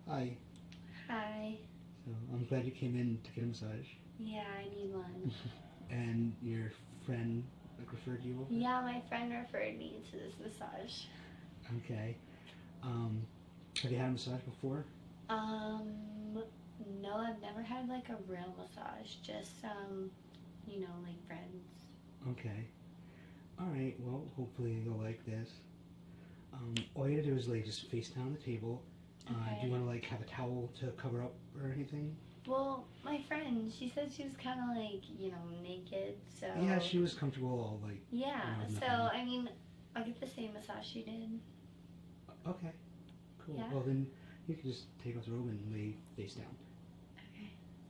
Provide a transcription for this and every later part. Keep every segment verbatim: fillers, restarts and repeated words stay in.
Hi. Hi. So I'm glad you came in to get a massage. Yeah, I need one. And your friend like referred you over? Yeah, my friend referred me to this massage. Okay. Um, have you had a massage before? Um, no, I've never had like a real massage. Just um, you know, like friends. Okay. All right. Well, hopefully you'll like this. Um, all you gotta do is lay just face down on the table. Uh, do you Okay. want to like have a towel to cover up or anything? Well, my friend, she said she was kind of like, you know, naked, so. Yeah, she was comfortable. All like you Yeah, know, with so nothing. I mean, I'll get the same massage she did. Okay. Cool. Yeah. Well then, you can just take off the robe and lay face down. Okay.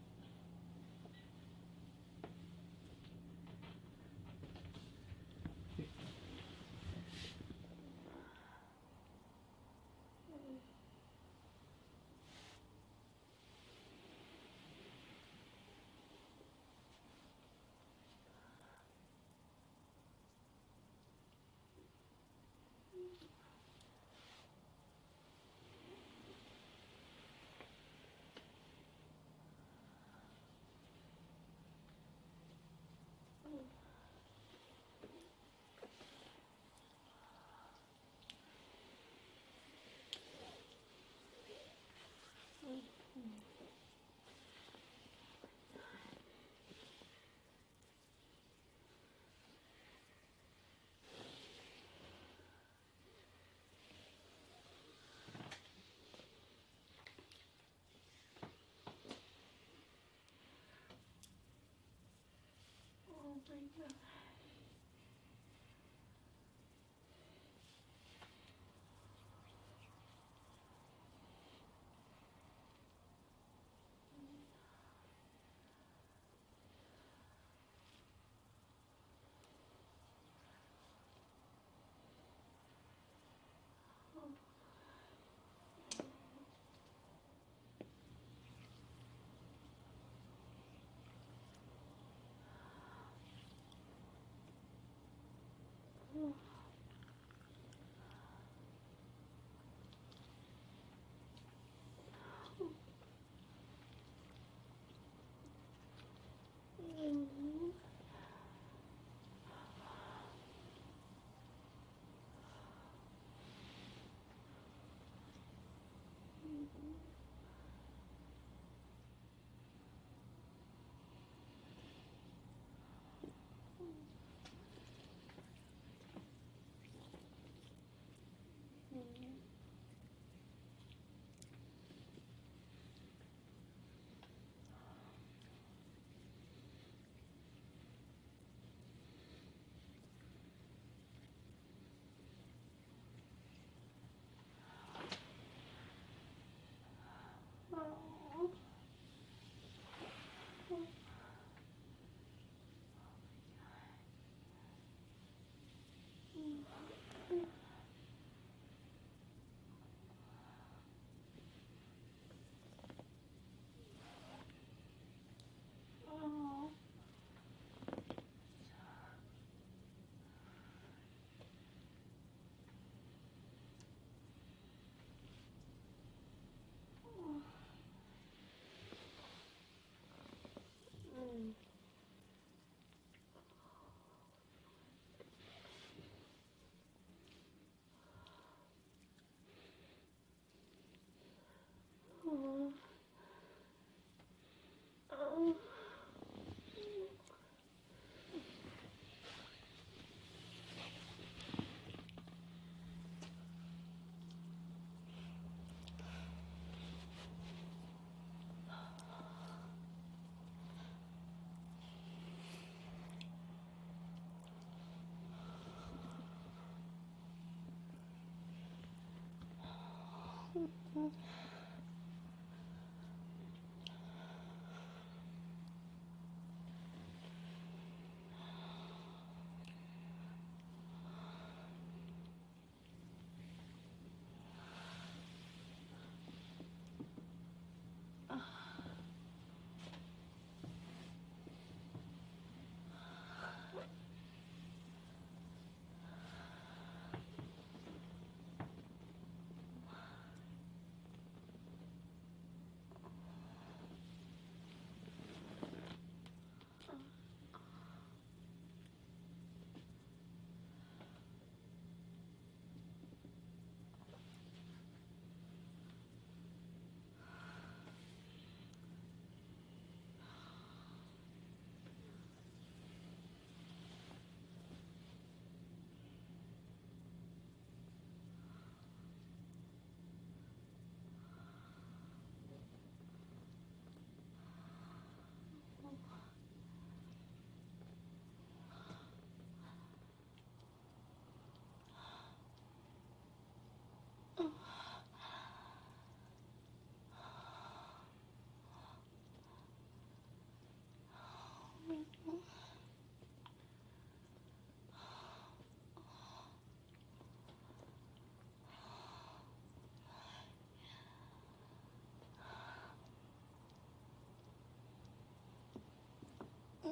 Oh my god.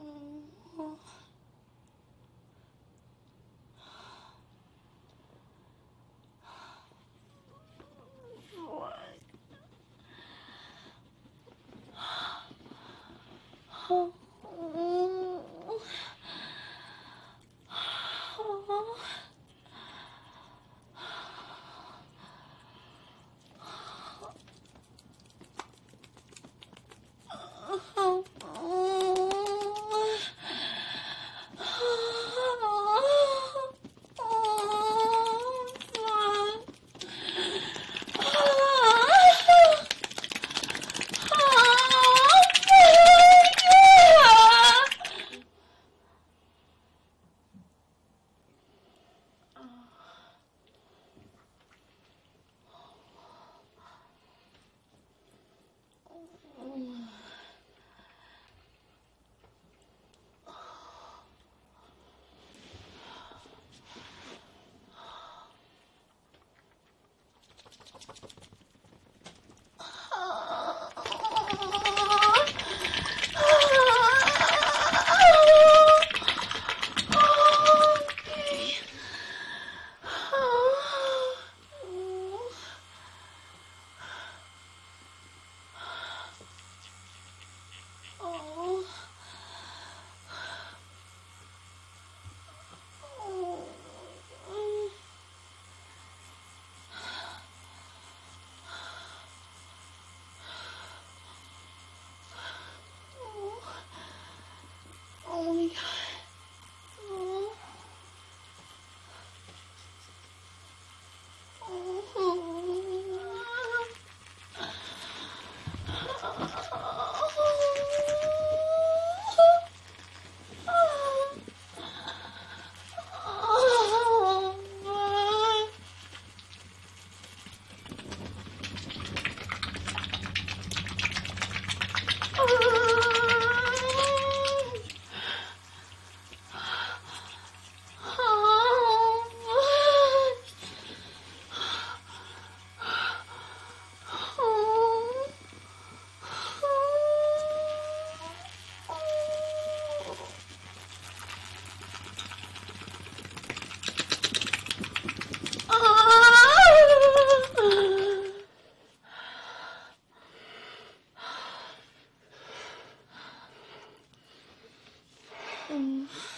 Oh my god. Oh. Mm.